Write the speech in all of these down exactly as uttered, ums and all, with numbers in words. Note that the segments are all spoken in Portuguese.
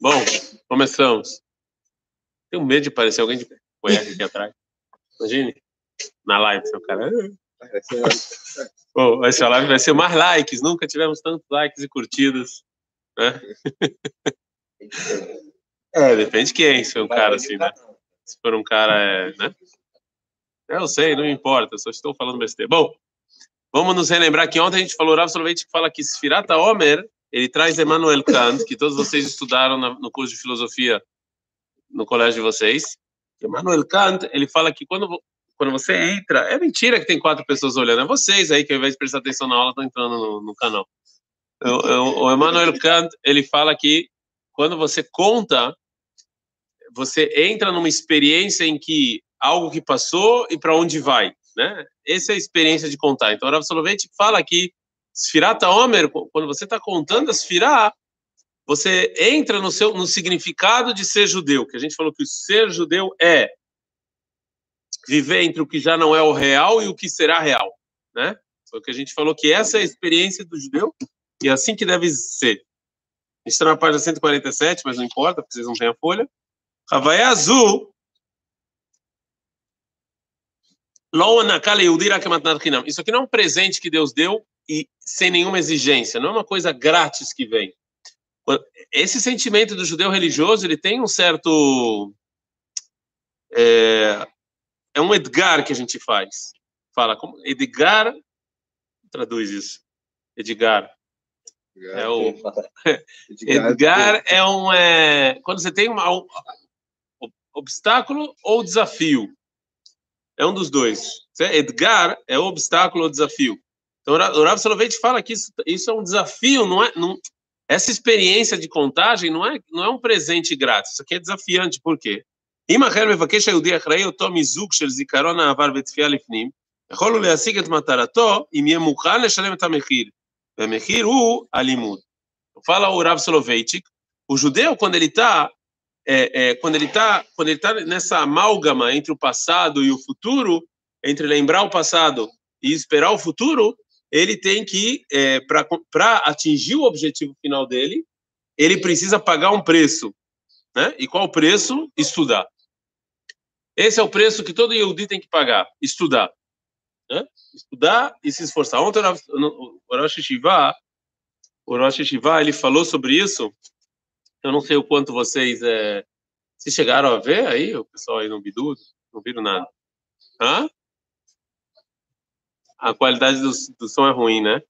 Bom, começamos. Tenho medo de parecer alguém de cueca aqui atrás. Imagine, na live, seu cara. Bom, essa live vai ser mais likes. Nunca tivemos tantos likes e curtidas, né? É, depende de quem, se for um cara assim, né? Se for um cara, é, né? Eu sei, não importa, só estou falando besteira. Bom, vamos nos relembrar que ontem a gente falou, Rav Soloveitchik fala que Sfirat HaOmer, ele traz Emmanuel Kant, que todos vocês estudaram na, no curso de filosofia no colégio de vocês. Emmanuel Kant, ele fala que quando, quando você entra, é mentira que tem quatro pessoas olhando, é vocês aí que ao invés de prestar atenção na aula estão entrando no, no canal. O, o Emmanuel Kant, ele fala que quando você conta, você entra numa experiência em que algo que passou e para onde vai, né? Essa é a experiência de contar. Então, o Rav Soloveitchik fala que Sfirat HaOmer, quando você está contando a Sfirá, você entra no seu no significado de ser judeu, que a gente falou que o ser judeu é viver entre o que já não é o real e o que será real, né? Só que a gente falou que essa é a experiência do judeu e é assim que deve ser. A gente está na página cento e quarenta e sete, mas não importa, porque vocês não têm a folha. Havaya azul. Isso aqui não é um presente que Deus deu e sem nenhuma exigência, não é uma coisa grátis que vem. Esse sentimento do judeu religioso, ele tem um certo... É, é um Edgar que a gente faz. Fala, como Edgar... Traduz isso. Edgar. É o... Edgar é um... É, quando você tem uma, um obstáculo ou desafio. É um dos dois. Edgar é obstáculo ou desafio. Então, o Rav Soloveitchik fala que isso, isso é um desafio, não é... Não, essa experiência de contagem não é, não é um presente grátis. Isso aqui é desafiante. Por quê? אם אחר מבקש היהודי אחראי אותו מיזוג של זיכרון העבר ותפייה לפנים, יכול הוא להשיג את מטרתו אם יהיה מוכן לשלם את המחיר. והמחיר הוא הלימוד. Fala o Rav Soloveitchik, o judeu, quando ele está é, é, quando ele está quando ele tá nessa amálgama entre o passado e o futuro, entre lembrar o passado e esperar o futuro, ele tem que, é, para atingir o objetivo final dele, ele precisa pagar um preço, né? E qual o preço? Estudar. Esse é o preço que todo Yehudi tem que pagar, estudar. Né? Estudar e se esforçar. Ontem o Rosh Yeshiva, o Rosh Yeshiva, ele falou sobre isso. Eu não sei o quanto vocês é, se chegaram a ver aí, o pessoal aí no Bidu, não viram nada. Hã? A qualidade do, do som é ruim, né?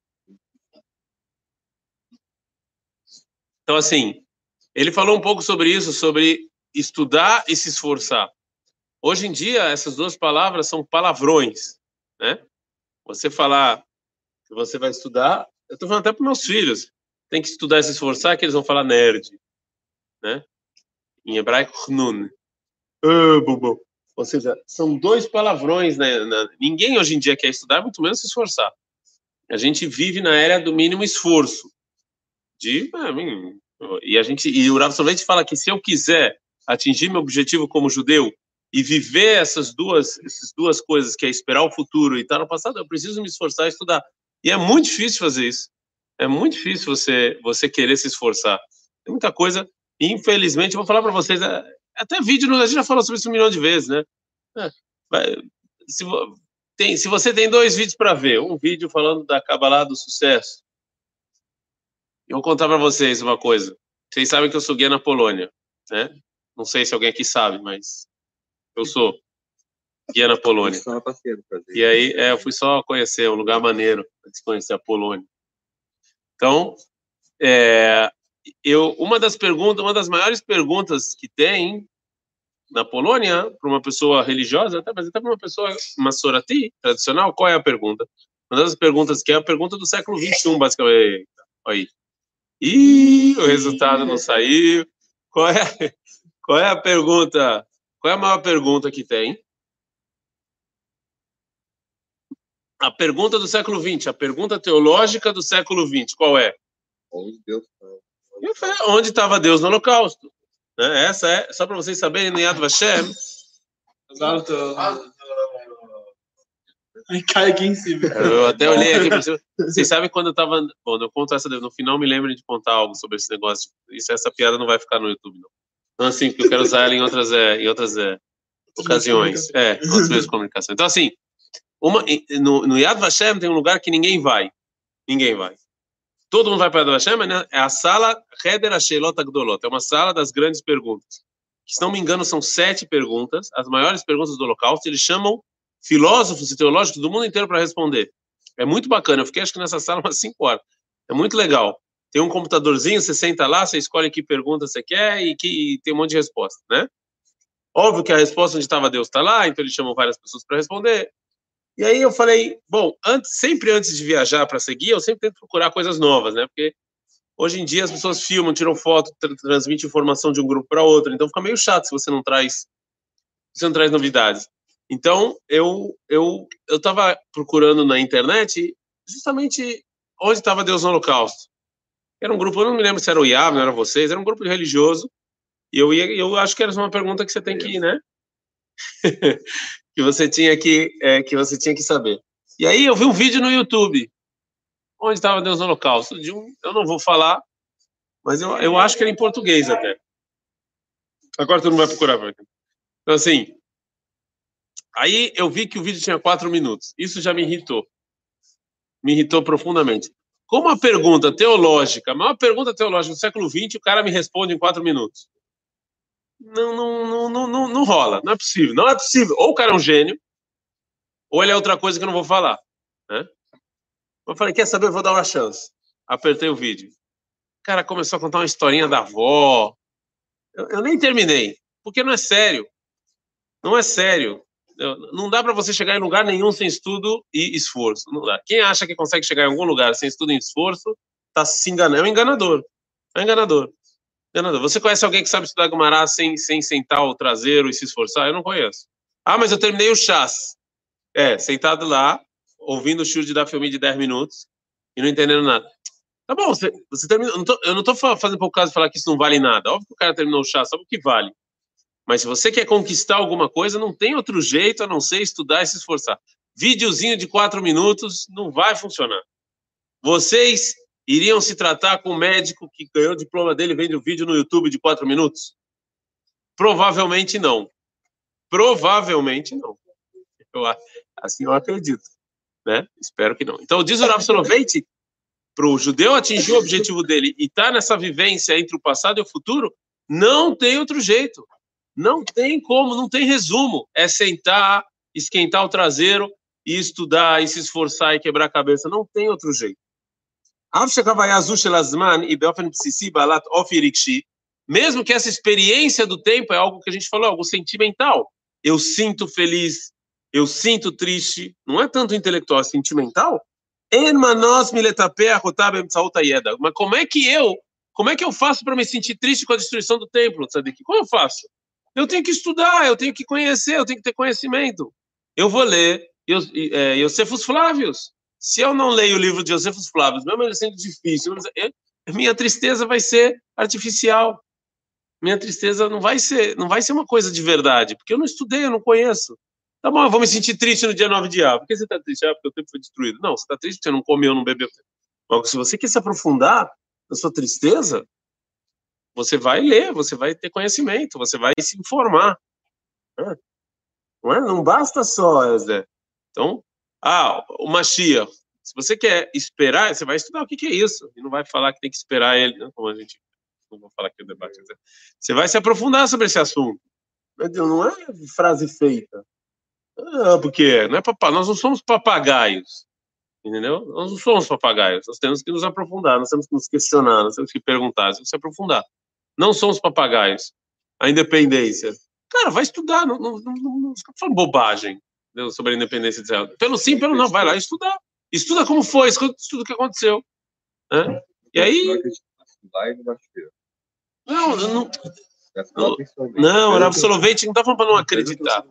Então, assim, ele falou um pouco sobre isso, sobre estudar e se esforçar. Hoje em dia, essas duas palavras são palavrões, né? Você falar que você vai estudar, eu estou falando até para meus filhos, tem que estudar e se esforçar, que eles vão falar nerd, né? Em hebraico, chnun. Ah, bobo. Ou seja, são dois palavrões, né? Ninguém hoje em dia quer estudar, muito menos se esforçar. A gente vive na era do mínimo esforço. De, e a gente e o Rav Soloveitchik fala que se eu quiser atingir meu objetivo como judeu e viver essas duas essas duas coisas, que é esperar o futuro e estar no passado, eu preciso me esforçar e estudar. E é muito difícil fazer isso. É muito difícil você você querer se esforçar. Tem muita coisa. Infelizmente, eu vou falar para vocês, até vídeo, a gente já falou sobre isso um milhão de vezes, né? Se, tem, se você tem dois vídeos para ver, um vídeo falando da Kabbalah do sucesso. Eu vou contar para vocês uma coisa. Vocês sabem que eu sou guia na Polônia, né? Não sei se alguém aqui sabe, mas eu sou guia na Polônia. E aí, é, eu fui só conhecer um lugar maneiro, para conhecer a Polônia. Então, é, eu, uma das perguntas, uma das maiores perguntas que tem na Polônia, para uma pessoa religiosa, até, mas até para uma pessoa massorati, tradicional, qual é a pergunta? Uma das perguntas que é a pergunta do século vinte e um, basicamente. Aí. Ih, o resultado não saiu. Qual é, qual é a pergunta? Qual é a maior pergunta que tem? A pergunta do século vinte, a pergunta teológica do século vinte, qual é? Onde Deus Onde estava Deus no Holocausto? Né? Essa é, só para vocês saberem, no Yad Vashem. Aí cai aqui em cima. Eu até olhei aqui para cima. Vocês sabem quando eu tava... Bom, eu conto essa... No final me lembro de contar algo sobre esse negócio. Isso, essa piada não vai ficar no YouTube, não. Então, assim, porque eu quero usar ela em outras, é, em outras é, ocasiões. É, outros meios de comunicação. Então, assim, uma, no, no Yad Vashem tem um lugar que ninguém vai. Ninguém vai. Todo mundo vai para o Yad Vashem, né? É a sala Heder HaSheilot HaGdolot. É uma sala das grandes perguntas. Que, se não me engano, são sete perguntas, as maiores perguntas do Holocausto. Eles chamam filósofos e teológicos do mundo inteiro para responder. É muito bacana. Eu fiquei, acho que nessa sala umas cinco horas. É muito legal. Tem um computadorzinho, você senta lá, você escolhe que pergunta você quer e que e tem um monte de resposta, né? Óbvio que a resposta onde estava Deus está lá, então eles chamam várias pessoas para responder. E aí eu falei, bom, antes, sempre antes de viajar para seguir, eu sempre tento procurar coisas novas, né? Porque hoje em dia as pessoas filmam, tiram foto, tra transmitem informação de um grupo para outro, então fica meio chato se você não traz, se você não traz novidades. Então eu eu eu estava procurando na internet justamente onde estava Deus no Holocausto. Era um grupo, eu não me lembro se era o I A B, não era vocês, era um grupo religioso. E eu ia, eu acho que era uma pergunta que você tem que, né? que você tinha que, é, que você tinha que saber. E aí eu vi um vídeo no YouTube, onde estava Deus no Holocausto. De um, eu não vou falar, mas eu, eu acho que era em português até. Agora todo mundo vai procurar. Então assim, aí eu vi que o vídeo tinha quatro minutos. Isso já me irritou. Me irritou profundamente. Como a pergunta teológica, a maior pergunta teológica do século vinte, o cara me responde em quatro minutos. Não, não, não, não, não, não rola, não é possível, não é possível. Ou o cara é um gênio, ou ele é outra coisa que eu não vou falar, né? Eu falei, quer saber, eu vou dar uma chance. Apertei o vídeo. O cara começou a contar uma historinha da avó. Eu, eu nem terminei, porque não é sério. Não é sério. Eu, não dá para você chegar em lugar nenhum sem estudo e esforço. Não dá. Quem acha que consegue chegar em algum lugar sem estudo e esforço, está se enganando. É um enganador. É um enganador. Você conhece alguém que sabe estudar Gumará sem, sem sentar o traseiro e se esforçar? Eu não conheço. Ah, mas eu terminei o chás. É, sentado lá, ouvindo o shiur de dar filme de dez minutos e não entendendo nada. Tá bom, você, você terminou. Não tô, eu não estou fazendo por causa de falar que isso não vale nada. Óbvio que o cara terminou o chás, sabe o que vale. Mas se você quer conquistar alguma coisa, não tem outro jeito a não ser estudar e se esforçar. Videozinho de quatro minutos não vai funcionar. Vocês iriam se tratar com um médico que ganhou o diploma dele vendo um vídeo no YouTube de quatro minutos? Provavelmente não. Provavelmente não. Eu, assim eu acredito, né? Espero que não. Então, diz o Rav Soloveitch, para o judeu atingir o objetivo dele e estar tá nessa vivência entre o passado e o futuro, não tem outro jeito. Não tem como, não tem resumo. É sentar, esquentar o traseiro e estudar, e se esforçar e quebrar a cabeça. Não tem outro jeito. Mesmo que essa experiência do tempo é algo que a gente falou, algo sentimental. Eu sinto feliz, eu sinto triste, não é tanto intelectual, é sentimental. Mas como é que eu, como é que eu faço para me sentir triste com a destruição do templo, Tzadik? Como eu faço? Eu tenho que estudar, eu tenho que conhecer, eu tenho que ter conhecimento. Eu vou ler é, Iosefos Flávios. Se eu não leio o livro de Iosefos Flávios, mesmo ele sendo difícil, eu, minha tristeza vai ser artificial. Minha tristeza não vai ser, não vai ser uma coisa de verdade, porque eu não estudei, eu não conheço. Tá bom, eu vou me sentir triste no dia nove de Av. Por que você está triste? Ah, porque o tempo foi destruído. Não, você está triste porque você não comeu, não bebeu. Mas se você quer se aprofundar na sua tristeza, você vai ler, você vai ter conhecimento, você vai se informar. Não, é? Não basta só, Zé. Então, ah, o Mashiach. Se você quer esperar, você vai estudar o que, que é isso. E não vai falar que tem que esperar ele, né? Como a gente... Não vou falar aqui o debate. Você vai se aprofundar sobre esse assunto. Não é frase feita. Ah, porque não é papa... nós não somos papagaios. Entendeu? Nós não somos papagaios. Nós temos que nos aprofundar, nós temos que nos questionar, nós temos que perguntar, nós temos que se aprofundar. Não somos papagaios. A independência. Cara, vai estudar. Não, não, não, não fica falando bobagem, entendeu? Sobre a independência de Israel. Pelo sim, pelo não. Vai lá estudar. Estuda como foi, estuda o que aconteceu. Né? E aí... Não, não... Não, não, era absolutamente... Não está falando para não acreditar.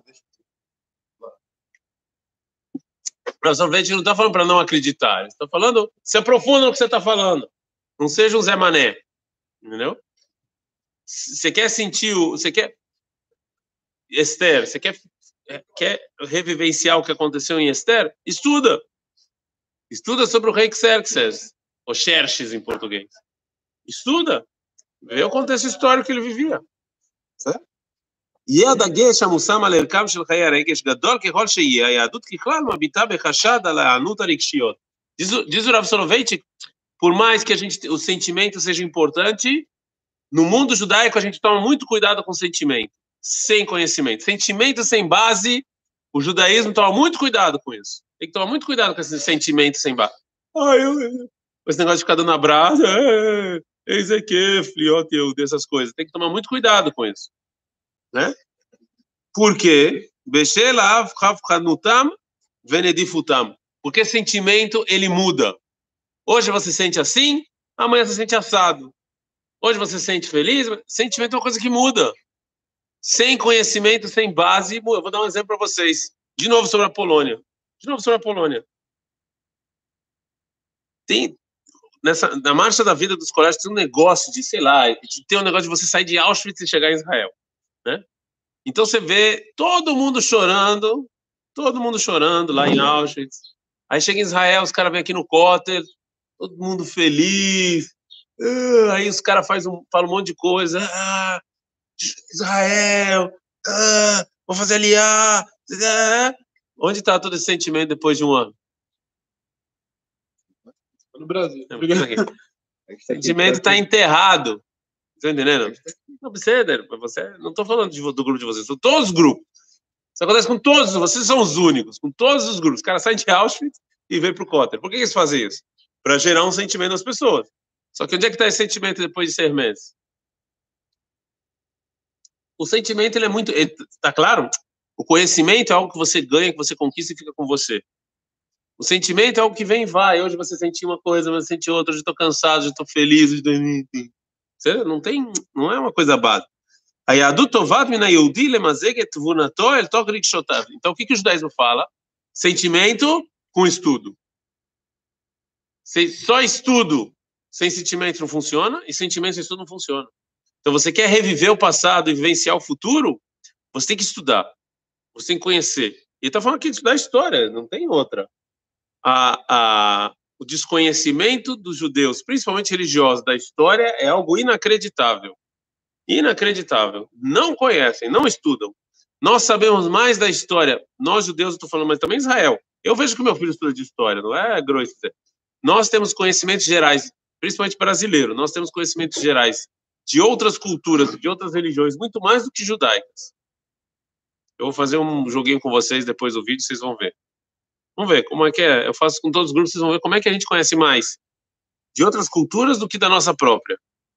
Absolutamente não está falando para não acreditar. Está falando... Se aprofunda no que você está falando. Não seja um Zé Mané. Entendeu? Você quer sentir o... Você quer... Esther, você quer quer revivenciar o que aconteceu em Esther? Estuda. Estuda sobre o rei Xerxes, ou Xerxes em português. Estuda. Vê o contexto histórico que ele vivia. Certo? יהיה הדגש המושם על ערכם של חיי הרגש גדול ככל שיהיה, היהדות ככלל מביטה בחשד על ההיענות הרגשיות. Diz o Rav Soloveitchik, por mais que a gente, o sentimento seja importante, no mundo judaico a gente toma muito cuidado com o sentimento, sem conhecimento. Sentimento sem base, o judaísmo toma muito cuidado com isso. Tem que tomar muito cuidado com esse sentimento sem base. Ah, eu, eu. Esse negócio de ficar dando abraço, é, eis aqui, fliote, eu, dessas coisas. Tem que tomar muito cuidado com isso. Né? Porque porque sentimento ele muda. Hoje você sente assim, amanhã você sente assado. Hoje você sente feliz, sentimento é uma coisa que muda. Sem conhecimento, sem base, eu vou dar um exemplo para vocês. De novo sobre a Polônia. De novo sobre a Polônia. Tem nessa na marcha da vida dos colégios tem um negócio de, sei lá, de ter um negócio de você sair de Auschwitz e chegar em Israel. Né? Então você vê todo mundo chorando, todo mundo chorando lá em Auschwitz. Aí chega em Israel, os caras vêm aqui no Kotel, todo mundo feliz. Uh, aí os caras um, falam um monte de coisa. Ah, Israel, ah, vou fazer aliar. Ah. Onde está todo esse sentimento depois de um ano? No Brasil. O sentimento está enterrado. Tá entendendo? Não precisa, você, não estou falando de, do grupo de vocês, são todos os grupos. Isso acontece com todos, vocês são os únicos, com todos os grupos. Os caras saem de Auschwitz e vêm para o Kotel. Por que eles fazem isso? Para gerar um sentimento nas pessoas. Só que onde é que está esse sentimento depois de seis meses? O sentimento, ele é muito... Está claro? O conhecimento é algo que você ganha, que você conquista e fica com você. O sentimento é algo que vem e vai. Hoje você sentiu uma coisa, você sentiu outra. Hoje estou cansado, hoje estou feliz. Hoje tô... Não tem, não é uma coisa básica. Então, o que, que o judaísmo fala? Sentimento com estudo. Só estudo sem sentimento não funciona, e sentimento sem estudo não funciona. Então, você quer reviver o passado e vivenciar o futuro, você tem que estudar. Você tem que conhecer. E ele está falando aqui de estudar história, não tem outra. A, a, o desconhecimento dos judeus, principalmente religiosos, da história é algo inacreditável. Inacreditável. Não conhecem, não estudam. Nós sabemos mais da história. Nós, judeus, eu estou falando, mas também Israel. Eu vejo que meu filho estuda de história, não é grosso. Nós temos conhecimentos gerais, principalmente brasileiro, nós temos conhecimentos gerais de outras culturas, de outras religiões, muito mais do que judaicas. Eu vou fazer um joguinho com vocês depois do vídeo, vocês vão ver. Vamos ver como é que é. Eu faço com todos os grupos, vocês vão ver como é que a gente conhece mais de outras culturas do que da nossa própria.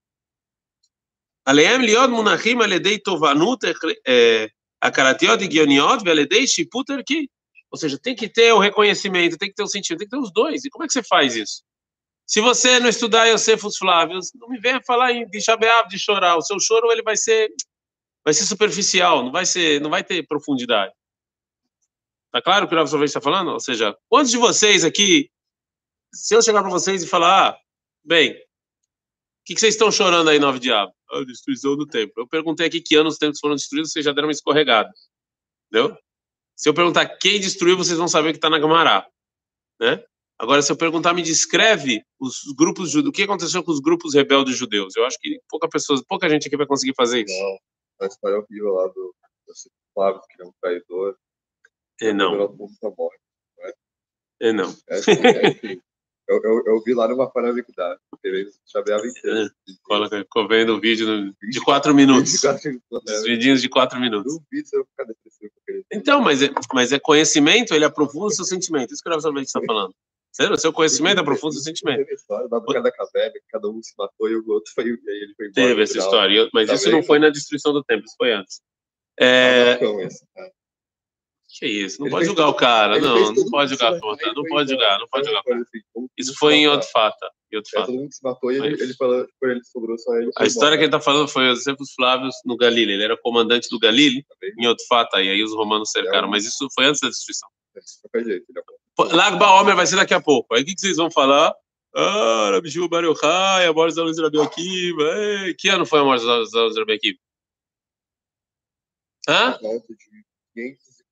עליהם להיות מונחים על ידי תובנות הכרתיות, הגיוניות, ועל ידי שיפוט ערכי. Ou seja, tem que ter o reconhecimento, tem que ter o sentimento, tem que ter os dois. E como é que você faz isso? Se você não estudar Yosefus Flávios, não me venha falar em de chabeab, de chorar. O seu choro ele vai ser, vai ser superficial, não vai ser, não vai ter profundidade. Tá claro o que o Rav Soloveitchik está falando? Ou seja, quantos de vocês aqui, se eu chegar para vocês e falar, ah, bem, o que, que vocês estão chorando aí, nove diabos? A destruição do templo. Eu perguntei aqui que anos os templos foram destruídos, vocês já deram uma escorregada. Entendeu? Se eu perguntar quem destruiu, vocês vão saber que está na Gamará. Né? Agora, se eu perguntar, me descreve os grupos judeus, o que aconteceu com os grupos rebeldes judeus? Eu acho que pouca, pessoa, pouca gente aqui vai conseguir fazer isso. Não, a história horrível lá do Flávio, que é um traidor. É não. Morte, não é? É não. É assim, é assim. Eu, eu, eu vi lá numa Panamicdade, eles chaveavam inteiro. Ficou vendo o vídeo de quatro minutos. Os vidinhos de quatro minutos. Duvido se eu ficar depressivo com aquele. Então, mas é, mas é conhecimento, ele aprofunda o seu sentimento. Isso que o Rav Soloveitchik está falando. Sério? O seu conhecimento aprofunda o seu sentimento. Teve história da boca da caverna, que cada um se matou e o outro foi, e aí ele foi embora. Teve essa história, mas isso não foi na destruição do templo, isso foi antes. É... Que isso? Não ele pode julgar tudo, o cara, não, não pode julgar a conta, não pode julgar, não pode julgar. Isso foi em Yodfata. Todo mundo se matou e ele, ele falou, ele sobrou só ele. A história que ele está falando foi os Josefos Flávios no Galile. Ele era comandante do Galile, em Yodfata, e aí os romanos cercaram, mas isso foi antes da destruição. Lag Baomer vai ser daqui a pouco. Aí o que, que vocês vão falar? Ah, Rabi Shimon Bar Yochai, a morte da luz de Rabi Akiva. Que ano foi a morte da luz de Rabi Akiva? Hã?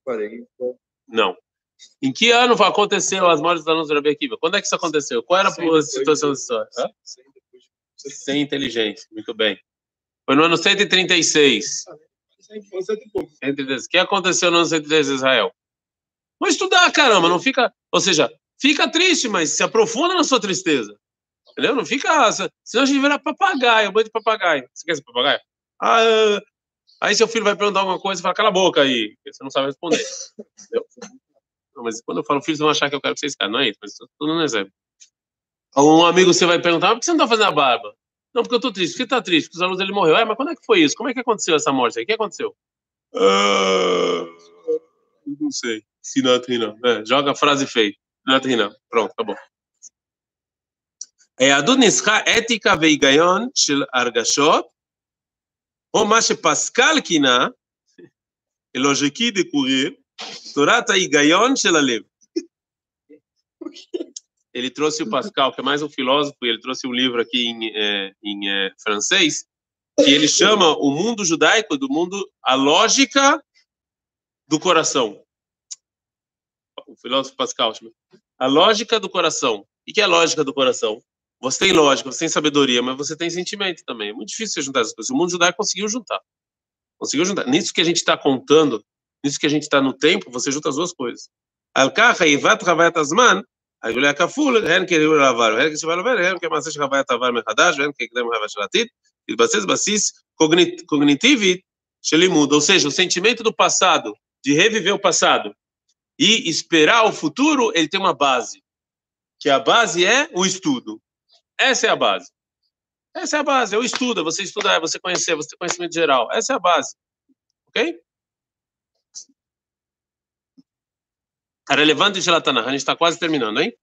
quarenta. Não. Em que ano aconteceu as mortes dos alunos do Rabi Akiva? Quando é que isso aconteceu? Qual era a situação da história? Sem inteligência, muito bem. Foi no ano cento e trinta e seis. O que aconteceu no ano cento e trinta e seis em Israel? Vamos estudar, caramba, não fica... Ou seja, fica triste, mas se aprofunda na sua tristeza. Entendeu? Não fica... Senão a gente vira papagaio, bando de papagaio. Você quer ser papagaio? Ah, aí seu filho vai perguntar alguma coisa e fala, cala a boca aí, porque você não sabe responder. Entendeu? Não, mas quando eu falo filhos, vão achar que eu quero que vocês caem, não é isso, mas tudo no exemplo. Um amigo você vai perguntar, por que você não está fazendo a barba? Não, porque eu estou triste. Por que está triste? Porque os alunos ele morreu. É, mas quando é que foi isso? Como é que aconteceu essa morte aí? O que aconteceu? Ah, não sei. Sinatrina. É, joga a frase feia. Sinatrina. Pronto, tá bom. היהדות ניסחה אתיקה והיגיון של הרגשות, או מה שפסקל כינה, לוגיקי דקוריר, תורת ההיגיון של הלב. Ele trouxe o Pascal, que é mais um filósofo, e ele trouxe um livro aqui em, é, em é, francês, que ele chama o mundo judaico do mundo, a lógica do coração. O filósofo Pascal chama. A lógica do coração. O que é a lógica do coração? Você tem lógica, você tem sabedoria, mas você tem sentimento também. É muito difícil você juntar essas coisas. O mundo judaico conseguiu juntar. Conseguiu juntar. Nisso que a gente está contando, nisso que a gente está no tempo, você junta as duas coisas. Al-Kacha, Ivat Ravat Azman, הגולה הכפול, הן כניהול העבר, והן כשבא לעבר, הן כמעשה של חוויית העבר מחדש, והן כקדם חוויה של העתיד, להתבסס בסיס קוגניטיבית של לימוד, ou seja, o sentimento do passado, de reviver o passado, e esperar o futuro, ele tem uma base, que a base é o estudo. Essa é a base. Essa é a base, é o estudo, é você estudar, é você conhecer, você ter conhecimento geral. Essa é a base. Ok? A relevante de Tanakh, a gente está quase terminando, hein?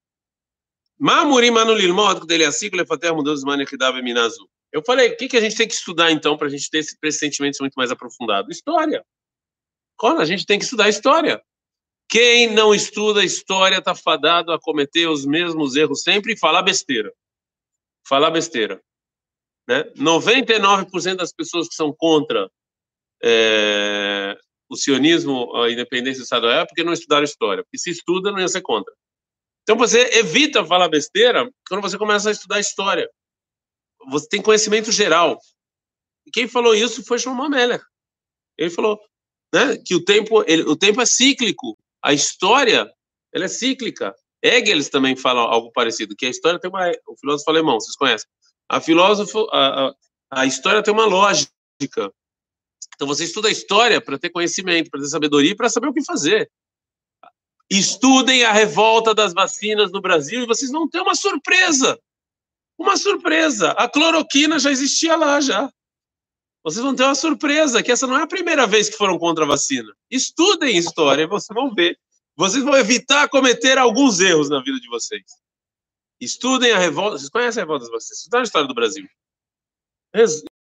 Eu falei, o que, que a gente tem que estudar então para a gente ter esse pressentimento muito mais aprofundado? História. Quando a gente tem que estudar história. Quem não estuda história está fadado a cometer os mesmos erros sempre e falar besteira. Falar besteira. Né? noventa e nove por cento das pessoas que são contra é, o sionismo, a independência do Estado é porque não estudaram história. Porque se estuda, não ia ser contra. Então você evita falar besteira quando você começa a estudar história. Você tem conhecimento geral. E quem falou isso foi Shlomo Melech. Ele falou, né, que o tempo, ele, o tempo é cíclico. A história, ela é cíclica. Hegel também fala algo parecido, que a história tem uma... O filósofo alemão, vocês conhecem. A, filósofo, a, a, a história tem uma lógica. Então você estuda a história para ter conhecimento, para ter sabedoria e para saber o que fazer. Estudem a revolta das vacinas no Brasil e vocês vão ter uma surpresa. Uma surpresa. A cloroquina já existia lá, já. Vocês vão ter uma surpresa, que essa não é a primeira vez que foram contra a vacina. Estudem história e vocês vão ver. Vocês vão evitar cometer alguns erros na vida de vocês. Estudem a revolta. Vocês conhecem a revolta das vacinas? Estudaram a história do Brasil. Não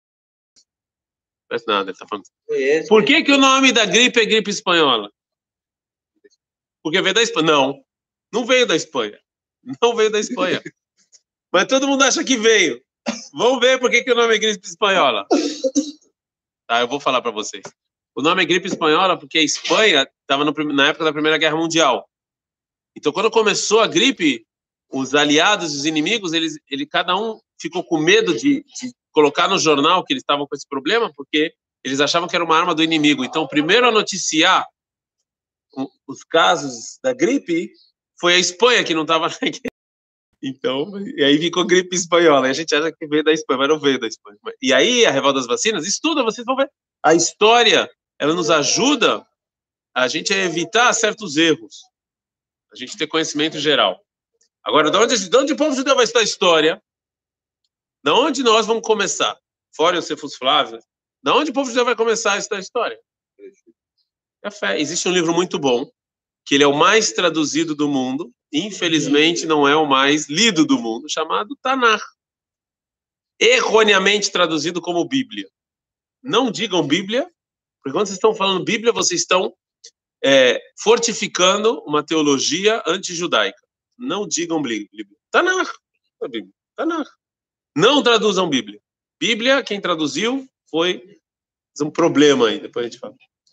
é nada, ele tá falando. Por que que o nome da gripe é gripe espanhola? Porque veio da Espanha. Não, não veio da Espanha. Não veio da Espanha. Mas todo mundo acha que veio. Vamos ver por que que o nome é gripe espanhola. Tá, eu vou falar para vocês. O nome é gripe espanhola porque a Espanha estava na época da Primeira Guerra Mundial. Então, quando começou a gripe, os aliados e os inimigos, eles, ele, cada um ficou com medo de, de colocar no jornal que eles estavam com esse problema, porque eles achavam que era uma arma do inimigo. Então, primeiro a noticiar os casos da gripe foi a Espanha, que não estava na guerra. Então, e aí ficou gripe espanhola. E a gente acha que veio da Espanha, mas não veio da Espanha. E aí, a revolta das vacinas, estuda, vocês vão ver. A história, ela nos ajuda a gente a evitar certos erros. A gente ter conhecimento geral. Agora, de onde, de onde o povo judeu vai estudar história? De onde nós vamos começar? Fora o Cefus Flávio. De onde o povo judeu vai começar a estudar história? Café. Existe um livro muito bom, que ele é o mais traduzido do mundo, infelizmente não é o mais lido do mundo, chamado Tanakh. Erroneamente traduzido como Bíblia. Não digam Bíblia, porque quando vocês estão falando Bíblia, vocês estão é, fortificando uma teologia antijudaica. Não digam Bíblia. Tanakh. Tanakh. Não traduzam Bíblia. Bíblia, quem traduziu foi um problema aí, depois a gente fala.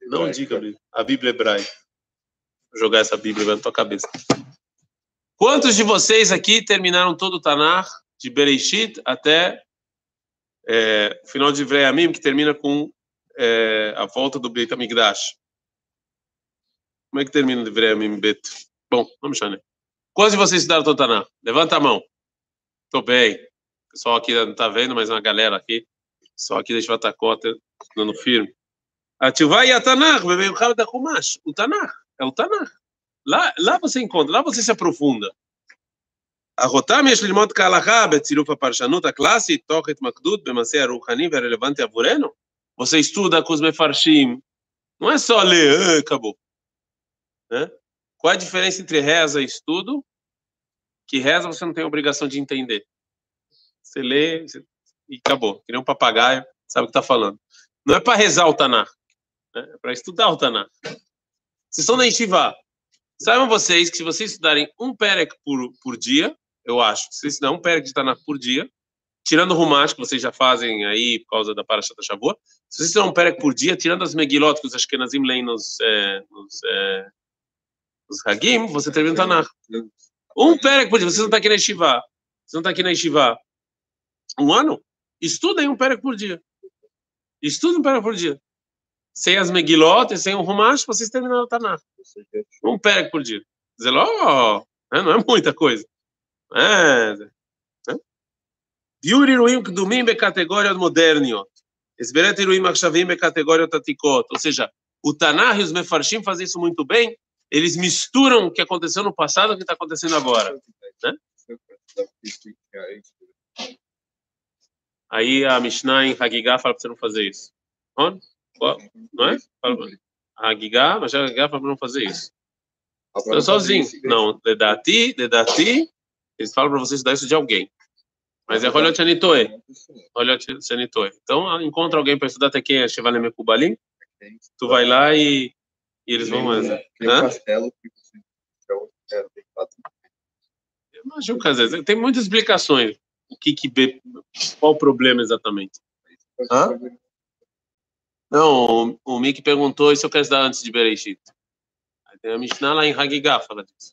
Não diga a Bíblia hebraica. Vou jogar essa Bíblia na tua cabeça. Quantos de vocês aqui terminaram todo o Tanakh, de Bereshit até é, o final de Vreamim, que termina com é, a volta do Beit HaMikdash? Como é que termina de Vreamim, Bet? Bom, vamos chamar. Quantos de vocês estudaram todo o Tanakh? Levanta a mão. Tô bem. O pessoal aqui não tá vendo, mas uma galera aqui. Só aqui deixa o Atacota dando firme. A Tchuvá e a Tanakh, bebê da Chumash. O Tanakh, é o Tanakh. Lá, lá você encontra, lá você se aprofunda. A Rotam יש ללמוד כהלכה בצירוף הפרשנות הקלאסית, תוך התמקדות במעשה הרוחני והרלוונטי עבורנו. Você estuda com os mefarshim. Não é só ler, ah, acabou. Né? Qual a diferença entre reza e estudo? Que reza você não tem obrigação de entender. Você lê e acabou. Que nem um papagaio, sabe o que está falando. Não é para rezar o Tanakh, né? É para estudar o Tanakh. Vocês estão na Yeshiva. Saibam vocês que se vocês estudarem um perek por, por dia, eu acho, se vocês estudarem um perek de Tanakh por dia, tirando o Rumash, que vocês já fazem aí por causa da Parashat Shavua, se vocês estudarem um perek por dia, tirando as Megilot que os Ashkenazim leem nos, é, nos, é, nos Hagim, você termina o Tanakh. Um perek por dia, vocês não estão aqui na Yeshiva. Vocês não estão aqui na Yeshiva. Um ano? Estudem um perek por dia. Estudem um perek por dia. Sem as Megilot e sem o Rumash, vocês terminaram o Tanakh. Um perek por dia. Dizer, oh, não é muita coisa. É. Viu iruim kdumim becategorias moderniot. Esberet iruim achshavim becategorias atikot. Ou seja, o Tanakh e os Mefarshim fazem isso muito bem. Eles misturam o que aconteceu no passado com o que está acontecendo agora. Né? Aí a Mishnah em Hagigah fala para você não fazer isso. Onde? Não é? A Hagigah, mas a Hagigah fala para não fazer isso. Eu sozinho. Não, Ledati, Ledati, eles falam para você estudar isso de alguém. Mas é Rolot Shanitoe. Rolot Shanitoe. Então, encontra alguém para estudar até quem é Shevalem Mekubalim, tu vai lá e, e eles vão... Tem um castelo que você... Eu imagino que às vezes tem muitas explicações. O que que... Qual o problema exatamente? Hã? Não, o, o Mickey perguntou se eu quero estudar antes de Bereshit. Tem a Mishnah lá em Hagigah fala disso.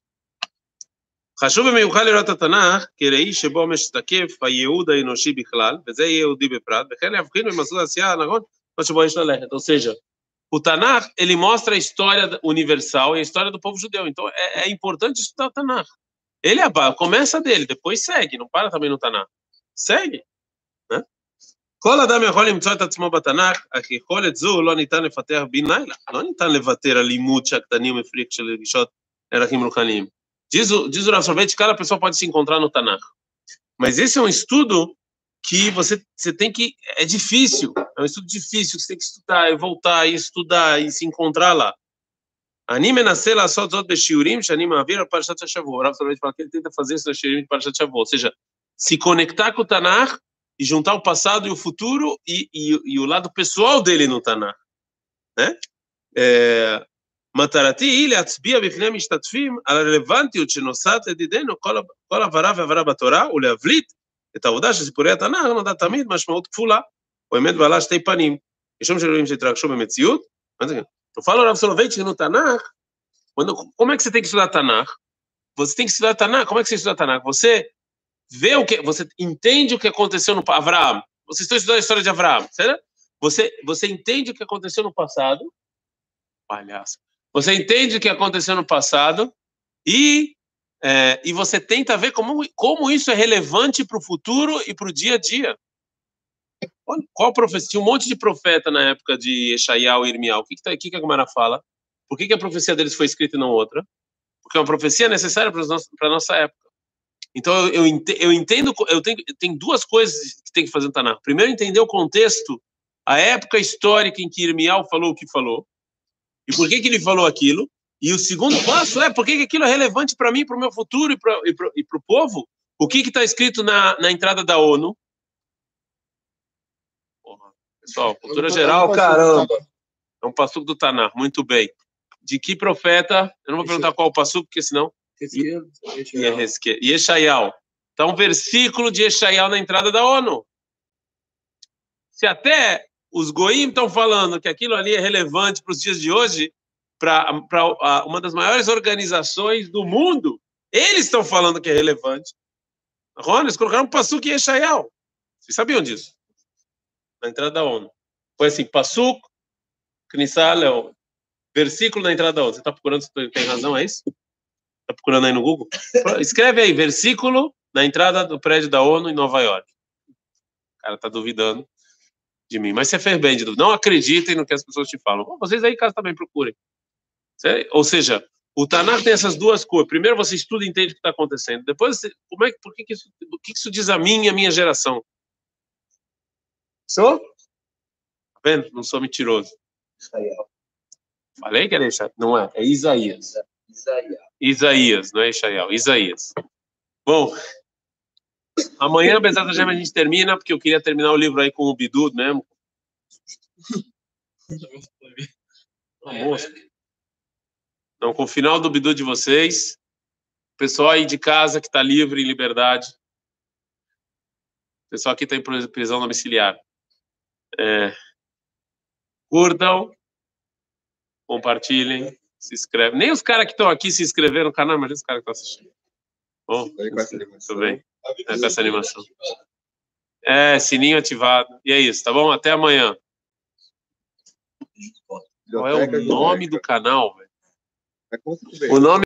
חשוב במיוחד לראות התנ"ך כראי שבו משתקף הייעוד האנושי בכלל, וזה יהודי בפרט, וכן להבחין במסלול העשייה הנכון, או שבו יש ללכת. Ou seja, o Tanakh, ele mostra a história universal e a história do povo judeu. Então, é, é importante estudar o Tanakh. Ele é, começa dele, depois segue, não para também no Tanakh. Segue. né? כל אדם יכול למצוא את עצמו בתנ"ך, אך יכולת זו לא ניתן לפתח בן לילה. לא ניתן לוותר על לימוד שהקטנים מפריק של רגישות ערכים רוחניים. Diz o, diz o Rav Soloveitch, cada pessoa pode se encontrar no Tanakh. Mas esse é um estudo que você, você tem que... É difícil, é um estudo difícil, você tem que estudar e voltar e estudar e se encontrar lá. אני מנסה לעשות זאת בשיעורים שאני מעביר על פרשת השבוע. הרב סולובייץ' fala que ele tenta fazer isso nos שיעורים de פרשת השבוע. Ou seja, se conectar com o Tanakh e juntar o passado e o futuro e, e, e o lado pessoal dele no Tanakh. né? É... מטרתי היא להצביע בפני המשתתפים על הרלוונטיות שנוסעת לדידנו כל, כל עברה ועברה בתורה, ולהבליט את העובדה שסיפורי התנ"ך נודעת תמיד משמעות כפולה, או אמת בעלה שתי פנים, משום שאלוהים שהתרגשו במציאות. Eu falo ao Rav Soloveitch no Tanakh, quando, como é que você tem que estudar Tanakh? Você tem que estudar Tanakh, como é que você estuda Tanakh? Você vê o que, você entende o que aconteceu no Avraham, você está estudando a história de Avraham, certo? Você, você entende o que aconteceu no passado, palhaço. Você entende o que aconteceu no passado e, é, e você tenta ver como, como isso é relevante para o futuro e para o dia a dia. Qual profecia? Tinha um monte de profeta na época de Yeshayahu e Irmial. O que, que, que a Gemara fala? Por que, que a profecia deles foi escrita e não outra? Porque é uma profecia necessária para a nossa época. Então, eu, eu entendo, eu tenho, tem duas coisas que tem que fazer no Tanakh. Primeiro, entender o contexto, a época histórica em que Irmial falou o que falou. E por que que ele falou aquilo? E o segundo passo é por que que aquilo é relevante para mim, para o meu futuro e para e para o povo? O que que está escrito na, na entrada da ONU? Porra, pessoal, cultura geral, caramba. É um passuco do Tanakh, muito bem. De que profeta? Eu não vou perguntar qual o passuco, porque senão... Yeshayahu. Está um versículo de Yeshayahu na entrada da ONU. Se até os goim estão falando que aquilo ali é relevante para os dias de hoje, para uma das maiores organizações do mundo, eles estão falando que é relevante. Ron, eles colocaram um Pasuk e Yeshayahu. Vocês sabiam disso? Na entrada da ONU. Foi assim, Pasuk, Knissah Leon. Versículo na entrada da ONU. Você está procurando se tem razão, é isso? Está procurando aí no Google? Escreve aí, versículo na entrada do prédio da ONU em Nova York. O cara está duvidando de mim. Mas você fez bem de duvidar. Não acreditem no que as pessoas te falam. Bom, vocês aí em casa também procurem. Ou seja, o Tanakh tem essas duas coisas. Primeiro você estuda e entende o que está acontecendo. Depois, você, como é, por que, que, isso, o que isso diz a mim e a minha geração? Sou? Tá vendo? Não sou mentiroso. Israel. Falei que era Isaías. Não é, é Isaías. Isaías. Isaías, não é Isaías. Isaías. Bom, amanhã, Bezat Hashem, a gente termina, porque eu queria terminar o livro aí com o Bidud mesmo. Almoço. Então, com o final do Bidud de vocês, o pessoal aí de casa que está livre, em liberdade, o pessoal aqui está em prisão domiciliar, é, curtam, compartilhem, se inscrevem. Nem os caras que estão aqui se inscreveram no canal, mas os caras que estão assistindo. Bom, tudo bem. É, com essa animação. É, sininho ativado. E é isso, tá bom? Até amanhã. Qual é o nome do canal, velho? O nome